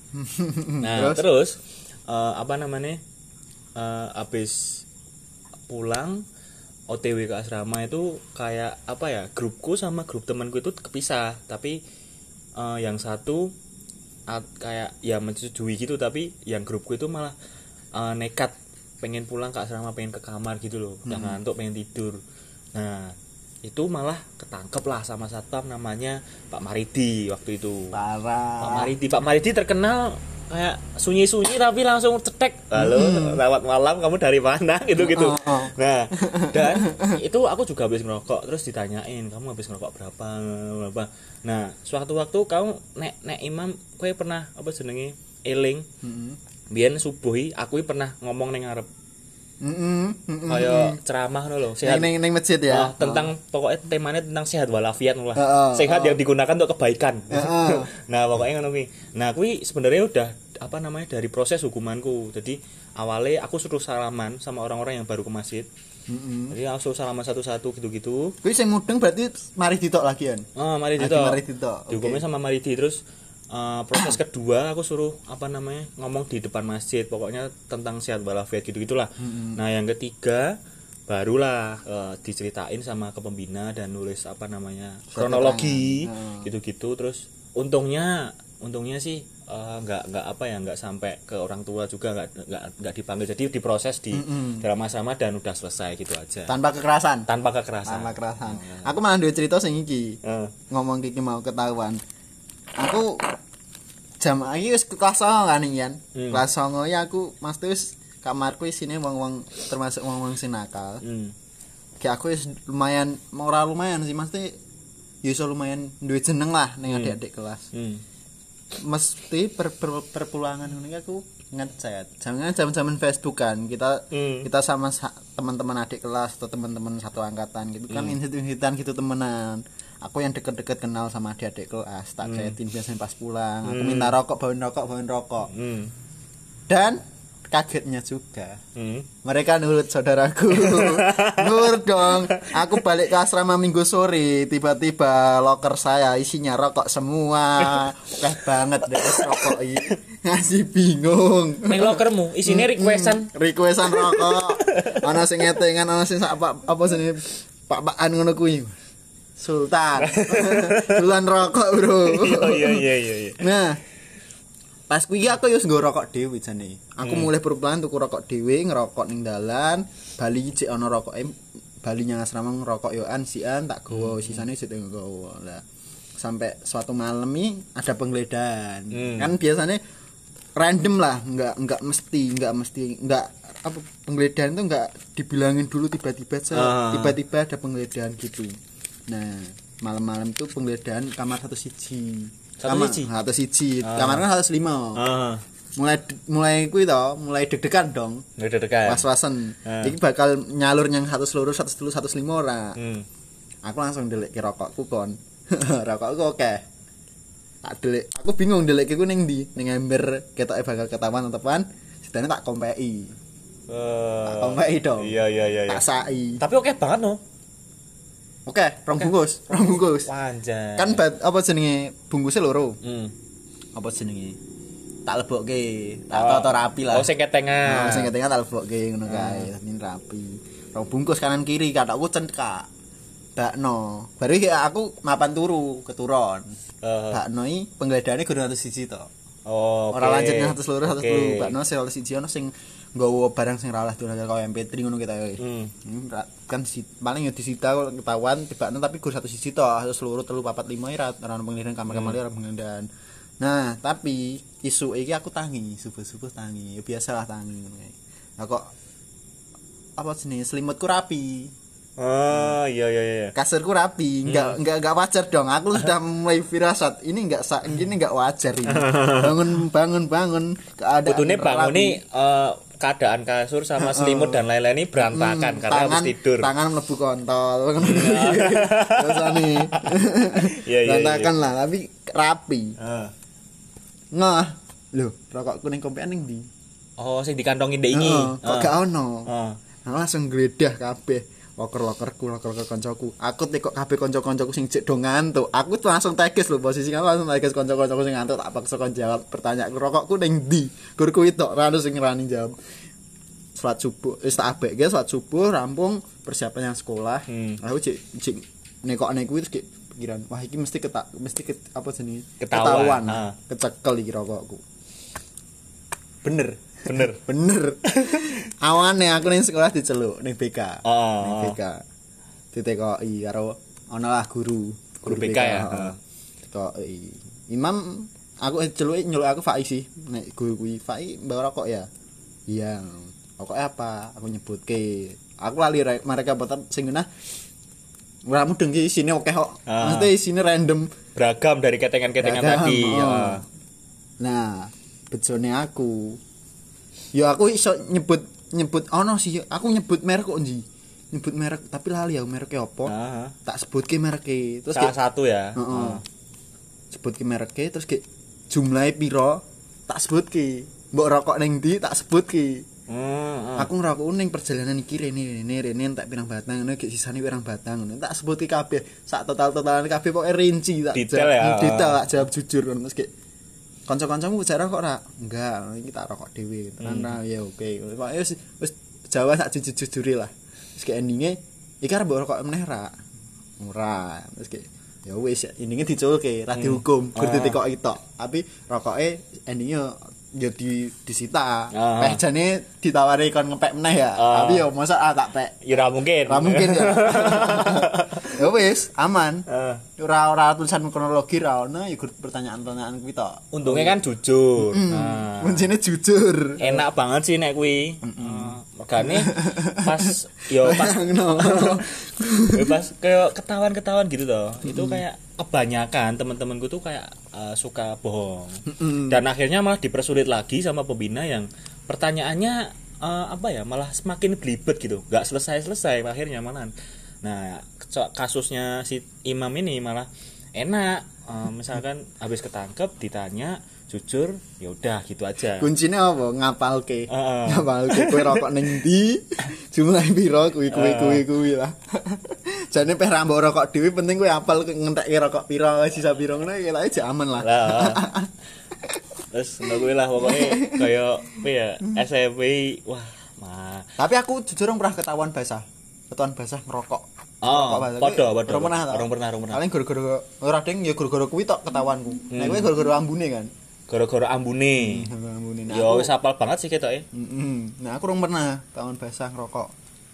Nah, terus, terus uh, apa namanya? Uh, abis pulang O T W ke asrama itu kayak apa ya? Grupku sama grup temanku itu kepisah, tapi uh, yang satu at, kayak ya menyetujui gitu, tapi yang grupku itu malah uh, nekat pengen pulang ke asrama, pengen ke kamar gitu loh. Udah hmm. ngantuk, pengen tidur. Nah, itu malah ketangkep lah sama satpam namanya Pak Maridi waktu itu. Parah. Pak Maridi, Pak Maridi terkenal kayak sunyi-sunyi tapi langsung cetek. Halo, mm-hmm. lewat malam kamu dari mana gitu-gitu. Oh, oh. Nah, dan itu aku juga habis ngerokok, terus ditanyain, "Kamu habis ngerokok berapa?" berapa. Nah, suatu waktu kamu nek nek imam kowe pernah apa jenenge eling? Heeh. Mm-hmm. Biyen subuhi aku pernah ngomong ning ngarep. Heeh. Mm-hmm. Kayak ceramah lho, sehat ning ning masjid ya. Oh, tentang oh. pokoknya temanya tentang sehat walafiat lah. Uh, uh, sehat uh. yang digunakan untuk kebaikan. Uh, uh. Nah, pokoknya ngono kuwi. Nah, kuwi sebenarnya udah apa namanya dari proses hukumanku. Jadi awalnya aku suruh salaman sama orang-orang yang baru ke masjid. Mm-hmm. Jadi aku suruh salaman satu-satu gitu-gitu. Kuwi sing mudeng berarti mari ditok lagian. Oh, mari ditok. Mari ditok. Dihukumnya okay. sama mari di terus Uh, proses kedua aku suruh apa namanya ngomong di depan masjid, pokoknya tentang sehat walafiat gitu gitulah. Mm-hmm. Nah yang ketiga barulah uh, diceritain sama ke pembina dan nulis apa namanya kronologi mm-hmm. gitu-gitu. Terus untungnya untungnya sih uh, nggak nggak apa ya nggak sampai ke orang tua juga, nggak nggak nggak dipanggil, jadi diproses di mm-hmm. dalam asrama dan udah selesai gitu aja. Tanpa kekerasan. Tanpa kekerasan. Tanpa kekerasan. Oh, aku malah duwe cerita sing iki. Uh. Ngomong iki mau ketahuan. Aku jam iki wis kelas songo kan Ian. Hmm. Kelas songo ya aku mesti wis kamarku isine wong-wong termasuk wong-wong sing nakal. Hmm. Kayak aku wis lumayan ora lumayan sih mesti ya iso lumayan duwe jeneng lah ning hmm. adik-adik kelas. Hmm. Mesti per, per, perpulangan ngene aku ngechat. Jangan zaman-zaman Facebook kan. Kita hmm. kita sama sa- teman-teman adik kelas atau teman-teman satu angkatan gitu kan hmm. insit-insitan gitu temenan. Aku yang deket-deket kenal sama adik-adik kelas, tak hmm. chatin biasanya pas pulang. Aku hmm. minta rokok, bawain rokok, bawain rokok. Hmm. Dan kagetnya juga, hmm. mereka nurut saudaraku. Nurut dong. Aku balik ke asrama minggu sore, tiba-tiba loker saya isinya rokok semua. Wah banget deh rokok ini. Ngasih bingung. Neng lokermu isinya requestan, hmm. requestan rokok. Ana sing ngetengan, ana sing apa apa sini Pak-pakan ngono kuwi. Sultan. Sultan rokok, Bro. Iya iya iya iya. Nah, pas kuwi aku yo nggo rokok dhewe jane. Aku hmm. mulai perpelahan tuku rokok dhewe, ngerokok ning dalan, bali cek ana rokoke, bali nyang asrama ngerokok yo an sian tak gowo, hmm. sisane sik nggowo. Lah, sampai suatu malam nih ada penggeledahan. Hmm. Kan biasanya random lah, enggak enggak mesti, enggak mesti enggak apa penggeledahan itu enggak dibilangin dulu tiba-tiba aja, ah. tiba-tiba ada penggeledahan gitu. Nah, malam-malam itu penggeledahan kamar satu siji. Satu kamar, siji. Satu siji. Uh. Kamar kan satu lima. Uh. Mulai mulai kuwi to, mulai deg-degan dong. Deg-degan. Was-wasan. Uh. Iki bakal nyalur yang satu seluruh satu telu satu lima ora. Hmm. Aku langsung ndeleke rokokku kon. Rokokku oke. Okay. Tak delek. Aku bingung ndeleke ku ning ndi? Ning ember ketoke bakal ketahuan tepan. Sidane tak kompeki. Uh. Tak kompeki dong. Iya iya iya. Tak sai. Tapi oke okay banget no. Oke, okay, rong okay. bungkus, rong bungkus. Panjang. Kan bat, apa jenenge bungkusnya loro. Hmm. Apa jenenge? Tak lebokke, tak oh. toto rapi lah. Oh, sing ketengan. Oh, sing ketengan tak lebokke ngono kae, hmm. rapi. Rong bungkus kanan kiri, katakku cengkak. bakno. Baru iki aku mapan turu keturun. Uh. Bakno iki penggledahane guru seratus siji to. Oh, ora okay. Lanjut seratus loro seratus telu. Okay. Bakno seratus siji ono sing nggawa barang sing ralah dolan kaya M P tiga ngono kita ya. Hmm. Kan paling ya disita ketahuan tibakno tapi guru seratus siji to, seratus loro telu papat lima ora ono penggeledahan kamar-kamar ora penggeledahan. Nah, tapi isu iki aku tangi, subuh-subuh tangi. Ya biasalah tangi ngono kae. Nah kok apa jenis selimutku rapi. Oh, iya iya iya. Kasurku rapi, enggak hmm. enggak enggak wajar dong. Aku sudah mulai firasat. Ini enggak ini enggak wajar ini. Bangun bangun bangun keadaan. Kudune bangune uh, keadaan kasur sama selimut dan lain-lain ini berantakan hmm, karena tangan, habis tidur. Tangan mlebu kontol. Terus nih. Iya iya. Berantakan lah, tapi rapi. Heeh. Ngah. Loh, rokokku ning kompean ning ndi? Oh, sing dikantongin ndek iki. Heeh, kok gak ono. Heeh. Langsung gledah kabeh. Loker-lokerku, loker-loker koncoku. Aku tekok kabeh kanca-kancaku sing cek do ngantuk. Aku tuh langsung teges lho posisi aku langsung teges kanca-kancaku sing ngantuk tak paksa kon jawab pertanyaanku rokokku ning ndi. Gur kuwi tok ra ono sing ngrani jawab. Salat subuh, wis tak abeke salat subuh rampung persiapan yang sekolah. Hmm. Aku cek cek nekokne kuwi terus pikiran, wah iki mesti ketak mesti ket, apa jenenge? Ketahuan. Kecekel iki rokokku. Bener. Bener, bener. Awane aku ning sekolah diceluk ning B K. Oh. Ning B K. Ditekoki karo ana lah guru, guru B K ya. Heeh. Ditekoki. Imam aku celuki nyeluk aku Faiz sih. Nek guru kuwi Faiz mbak rokok ya. Iya. Rokok apa? Aku nyebutke. Aku lali mereka boten sing genah. Ora mudeng iki isine akeh kok. Mesti isine random, beragam dari ketengan-ketengan tadi. Ya. Nah, bejone aku ya aku iso nyebut nyebut ono sih aku nyebut merek kok nji nyebut merek tapi lali ya mereknya apa uh-huh. Tak sebutke mereknya terus salah ke, satu ya uh-uh. uh. Sebutke mereknya terus ke jumlahnya piro tak sebutke mbok rokok ning ndi tak sebutke uh, uh. Aku ngerokok ning perjalanan iki rene rene rene tak pirang batang ngono gek sisane pirang batang ngono tak sebutke kabeh sak total-totalan kabeh pokoke rinci tak detail ya detail tak jawab jujur ngono terus ke kanca-kancamu bicara kok ora? Enggak, iki tak rokok dhewe. Tenan hmm. Ya oke. Pokoke wis wis Jawa sak jujur-jujure lah. Terus ke endinge iki arep mbok rokok meneh ra. Ora. Terus ke ya wis endinge diculke, ra dihukum, gur ditekoki tok. Tapi rokoke endinge ya di disita. Uh-huh. Peh jane ditawari kon ngepek meneh ya. Uh-huh. Tapi ya mosok ah tak pek. Ya ora mungkin. Ora mungkin ya. Ya wis, aman. Uh. Ora ora tulisan kronologi ra ono, ya pertanyaan-pertanyaan kuwi tok. Untungnya kan jujur. Mm-hmm. Nah. Kuncine jujur. Enak banget sih nek kuwi. Heeh. Regane pas yo pas yo pas kayak ketahuan-ketahuan gitu toh. Mm-hmm. Itu kayak kebanyakan teman-temanku tuh kayak uh, suka bohong. Mm-hmm. Dan akhirnya malah dipersulit lagi sama pembina yang pertanyaannya uh, apa ya? Malah semakin belibet gitu. Enggak selesai-selesai akhirnya malahan. Nah, kasusnya si Imam ini malah enak. Uh, misalkan habis ketangkep ditanya jujur, ya udah gitu aja. Kuncinya apa? Ngapalke. Uh, Ngapalke kowe rokok ning ndi? Jumlah piro kuwi kuwi kuwi kuwi lah. Jane peh ra mbok rokok dhewe penting kowe apal ngentekke rokok piro, sisa piro ngono ya lek aman lah. Lah. Terus ngono kuwi lah pokoke kaya apa ya S M P wah, mah. Tapi aku jujur ora pernah ketahuan basah. Ketahuan basah ngerokok. Oh, padha padha. Ora pernah, ora pernah, ora pernah. Paling gara-gara ora ding ya gara-gara kuwi tok ketahuanku. Hmm. Nek kowe gara-gara ambune kan. Gara-gara ambune. Hmm, ambune. Nah, ya wis apal banget sih ketoke. Heeh. Mm-hmm. Nah, aku ora pernah tahun basah ngerokok.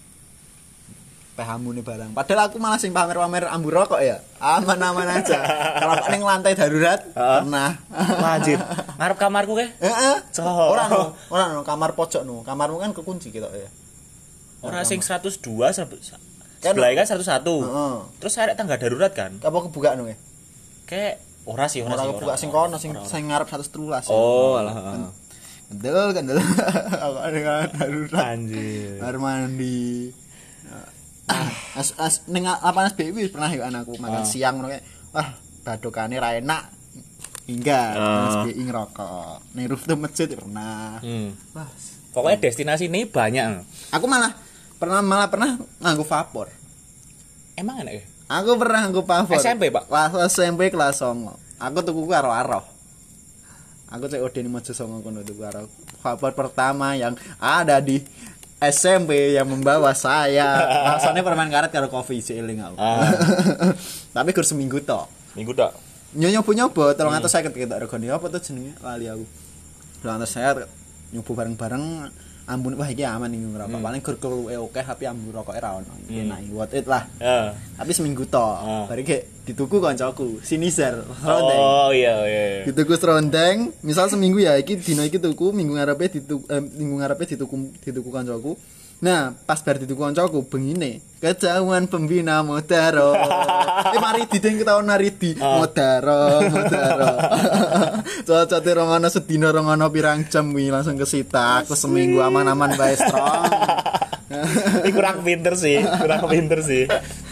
Peh ambune barang. Padahal aku malah sing pamer-pamer ambu rokok ya. Aman-aman aja. Kalau ning lantai darurat pernah. Lanjut. Ngarep kamarku ke? Heeh. Ora no, ora no kamar pojok no. Kamarmu kan kekunci ketok ya. Ora sing seratus dua sebelah kan seratus satu. Heeh. Terus arek tangga darurat kan? Apa kebuka no ya? Kayak ora sih, ora sih. Ora kebuka sing kono sing sing ngarep seratus tiga belas. Oh, alah. Kendel kendel. Aku ada darurat. Anjir. Kamar mandi. As as ning lapangan B W pernah yo anakku makan siang ngono kayak wah badokane ra enak. Hingga S B I ngerokok. Ning rooftop masjid pernah. Hmm. Wah, pokoknya destinasi ini banyak. Aku malah pernah malah pernah nganggo vapor. Emang enak ya? Aku pernah nganggo vapor. S M P, Pak. Kelas S M P kelas songo. Aku tuku karo-aro. Aku C O D di Mojo Songo kono tuku karo. Vapor pertama yang ada di S M P yang membawa saya. Rasanya permen karet karo kopi eling aku. Ah. Tapi kur seminggu tok. Minggu tok. Nyonya-nyoba tolong atas saya ketika regane apa tuh jenenge lali aku. Tolong atas saya nyoba bareng-bareng ambune wah iki aman iki ngerokok. Hmm. Paling gur keluwe oke tapi ambune rokoke ra ono. Enak what it lah. Uh. Tapi seminggu tok. Uh. Bari ge dituku kancaku, Sinizar, Rondeng. Oh iya iya. Dituku Rondeng, misal seminggu ya iki dino iki tuku, minggu ngarepe dituku eh, minggu ngarepe dituku dituku kancaku. Nah, pas bar dituku kancaku bengine, kejauhan pembina Modaro. eh mari dideng ketahuan naridi uh. Modaro, Modaro. Cocote rong ana sedina rong ana pirang jam wi langsung kesita. Aku seminggu aman-aman bae strong. Ini kurang pinter sih, kurang pinter sih.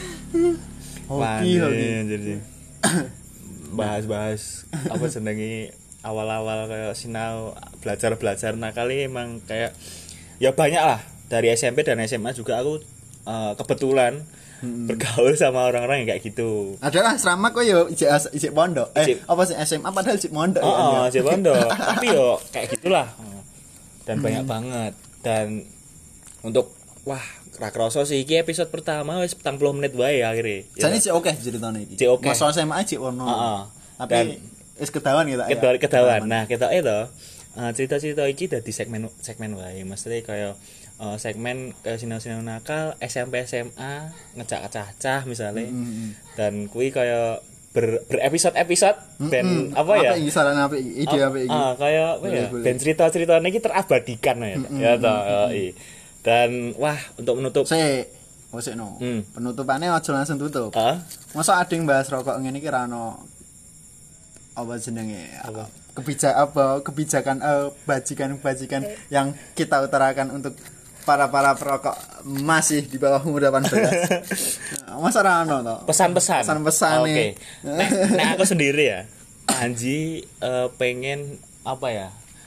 Hoki hoki. Jadi bahas-bahas apa senengi awal-awal kayak sinau belajar-belajar nakali emang kayak ya banyak lah. Dari S M P dan S M A juga aku uh, kebetulan hmm. bergaul sama orang-orang yang kayak gitu. Adalah asrama kok yo ijek ijek pondok. Eh ijek. Apa sih S M A padahal ijek pondok oh, ya. Oh, ijek pondok. Tapi yo kayak gitulah. Dan hmm. banyak banget. Dan untuk wah, ra kroso sih iki episode pertama wis petang puluh menit wae akhire. Jane sik oke ceritane iki. Cik oke. Masa S M A cik ono. Heeh. Tapi wis kedawan gitu ya. Kedawan. Nah, kita itu uh, cerita-cerita iki dadi segmen segmen wae. Maksudnya kayak Uh, segmen kayak sinau-sinau nakal S M P S M A ngecak cacah misalnya mm-hmm. dan kui kayak ber, berepisode-episode mm-hmm. ben apa ya apa iki saran apa iki ide apa iki ah kayak apa ya ben cerita-ceritanya iki terabadikan ya mm-hmm. ya toh mm-hmm. dan wah untuk menutup saya oh sik no hmm. penutupannya aja langsung tutup uh? masa ada yang bahas rokok ngene iki ra ono apa jenenge apa kebijak apa kebijakan uh, bajikan-bajikan yang kita utarakan untuk para-para perokok masih di bawah umur delapan belas. Masa ra ono to? Pesan-pesan. Pesan-pesan nih. Oke. Nek nek aku sendiri ya. Anji uh, pengen apa ya?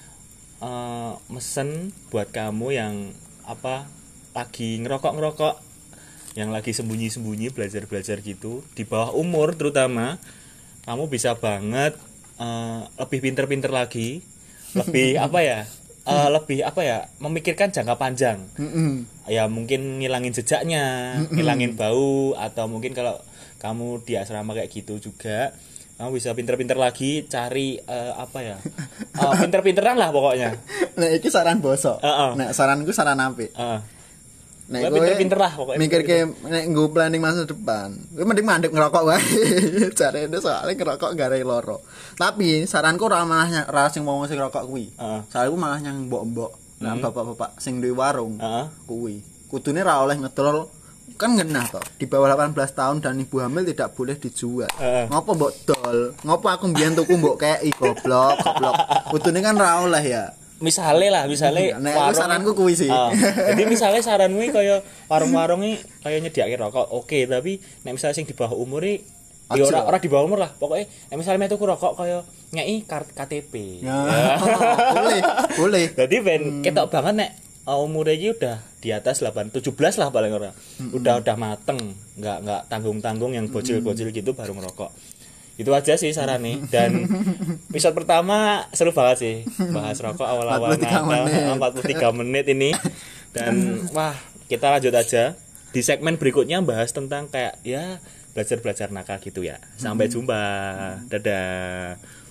Uh, mesen buat kamu yang apa lagi ngerokok-ngerokok yang lagi sembunyi-sembunyi belajar-belajar gitu di bawah umur terutama kamu bisa banget uh, lebih pinter-pinter lagi, lebih apa ya? Uh, lebih apa ya memikirkan jangka panjang mm-hmm. ya mungkin ngilangin jejaknya mm-hmm. ngilangin bau atau mungkin kalau kamu di asrama kayak gitu juga kamu bisa pinter-pinter lagi cari uh, apa ya uh, pinter-pinteran lah pokoknya. Nah iki saran bosok uh-uh. Nah saranku saran apik uh. Nek kowe pinter-pinter lah pokoknya mikir ke nek nggo planning masa depan kowe mending mandek ngerokok wae jarene soalnya ngerokok gare loro tapi saranku ora malah ora sing wong sing ngerokok kuwi uh. Saranku malah yang mbok-mbok lan hmm. bapak-bapak sing duwe warung uh. kuwi kudune ra oleh ngedol kan ngenah to di bawah delapan belas tahun dan ibu hamil tidak boleh dijual uh. Ngopo mbok dol ngopo aku mbiyen tuku mbok kei goblok goblok kudune kan ra oleh ya. Misalnya lah, misalnya nah, warung saranku kuwi sih. Uh, jadi misalnya saranmu kaya warung-warung iki kaya nyediake rokok, oke, okay, tapi nek misalnya sing di bawah umur iki ya ora ora di bawah umur lah. Pokoke nek misalnya tuku rokok kaya ngeki K T P. Ya. Ya. boleh, boleh. Jadi ben hmm. ketok banget nek uh, umure iki udah di atas delapan tujuh belas lah paling ora. Hmm. Udah udah mateng, enggak enggak tanggung-tanggung yang bocil-bocil gitu baru ngerokok. Itu aja sih saran nih. Dan episode pertama seru banget sih bahas rokok awal-awal empat puluh tiga menit ini. Dan wah kita lanjut aja di segmen berikutnya bahas tentang kayak ya belajar-belajar nakal gitu ya. Sampai jumpa, dadah.